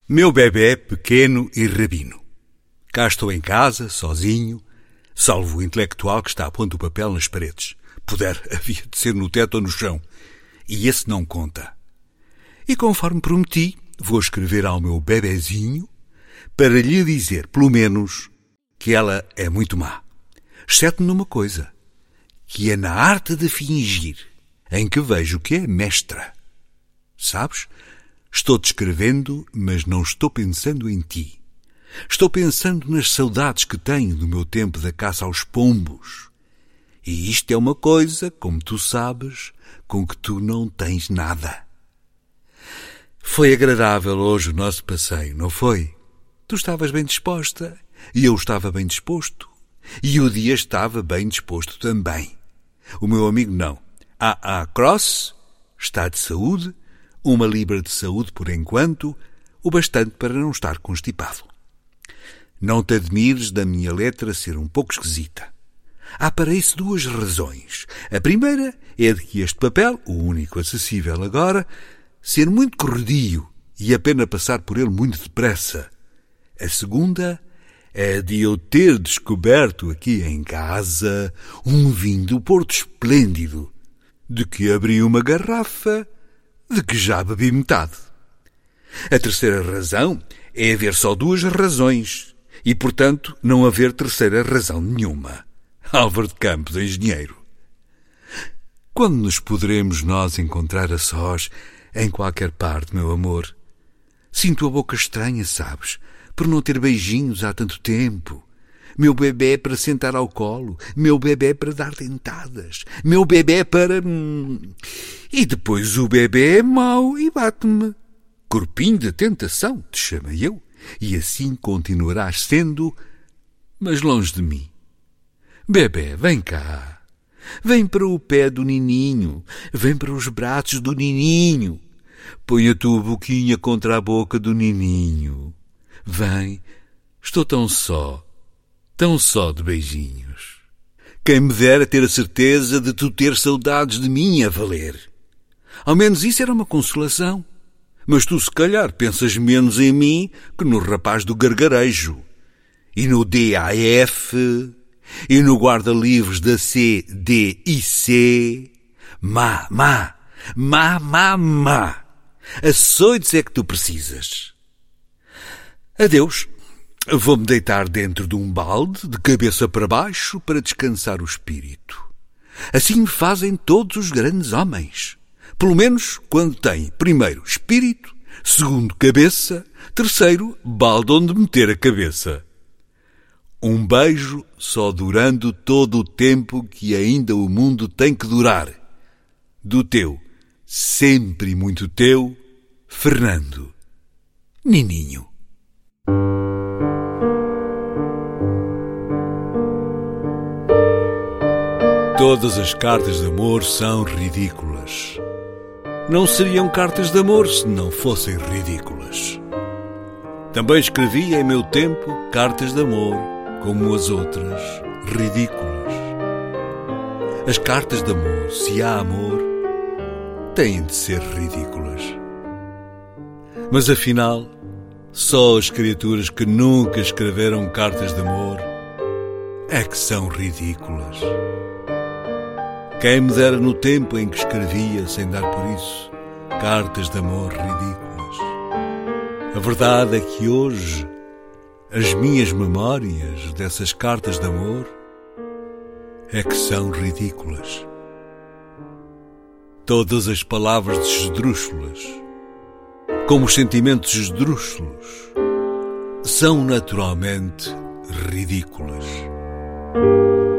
Meu bebé pequeno e rabino. Cá estou em casa, sozinho, salvo o intelectual que está a pondo o papel nas paredes. Puder, havia de ser no teto ou no chão. E esse não conta. E conforme prometi, vou escrever ao meu bebezinho para lhe dizer, pelo menos, que ela é muito má. Exceto numa coisa, que é na arte de fingir, em que vejo que é mestra. Sabes? Estou-te escrevendo, mas não estou pensando em ti. Estou pensando nas saudades que tenho do meu tempo da caça aos pombos. E isto é uma coisa, como tu sabes, com que tu não tens nada. Foi agradável hoje o nosso passeio, não foi? Tu estavas bem disposta, e eu estava bem disposto, e o dia estava bem disposto também. O meu amigo não. Cross está de saúde, 1 libra de saúde por enquanto, o bastante para não estar constipado. Não te admires da minha letra ser um pouco esquisita. Há para isso 2 razões. A primeira é de que este papel, o único acessível agora, ser muito corredio e a pena passar por ele muito depressa. A segunda é de eu ter descoberto aqui em casa um vinho do Porto esplêndido, de que abri uma garrafa, de que já bebi metade. A terceira razão é haver só 2 razões e, portanto, não haver terceira razão nenhuma. Álvaro de Campos, engenheiro. Quando nos poderemos nós encontrar a sós em qualquer parte, meu amor? Sinto a boca estranha, sabes, por não ter beijinhos há tanto tempo. Meu bebé para sentar ao colo, meu bebé para dar dentadas, meu bebé para... E depois o bebé é mau e bate-me. Corpinho de tentação, te chamei eu, e assim continuarás sendo, mas longe de mim. Bebé, vem cá. Vem para o pé do nininho, vem para os braços do nininho. Põe a tua boquinha contra a boca do nininho. Vem, estou tão só de beijinhos. Quem me dera ter a certeza de tu ter saudades de mim a valer. Ao menos isso era uma consolação. Mas tu, se calhar, pensas menos em mim que no rapaz do gargarejo. E no DAF, e no guarda-livros da CDIC. Má. Açoites é que tu precisas. Adeus. Vou-me deitar dentro de um balde, de cabeça para baixo, para descansar o espírito. Assim fazem todos os grandes homens. Pelo menos quando têm, primeiro, espírito, segundo, cabeça, terceiro, balde onde meter a cabeça. Um beijo só durando todo o tempo que ainda o mundo tem que durar. Do teu, sempre muito teu, Fernando. Nininho. Todas as cartas de amor são ridículas. Não seriam cartas de amor se não fossem ridículas. Também escrevi em meu tempo cartas de amor, como as outras, ridículas. As cartas de amor, se há amor, têm de ser ridículas. Mas afinal, só as criaturas que nunca escreveram cartas de amor é que são ridículas. Quem me dera no tempo em que escrevia, sem dar por isso, cartas de amor ridículas. A verdade é que hoje, as minhas memórias dessas cartas de amor é que são ridículas. Todas as palavras esdrúxulas, como os sentimentos esdrúxulos, são naturalmente ridículas.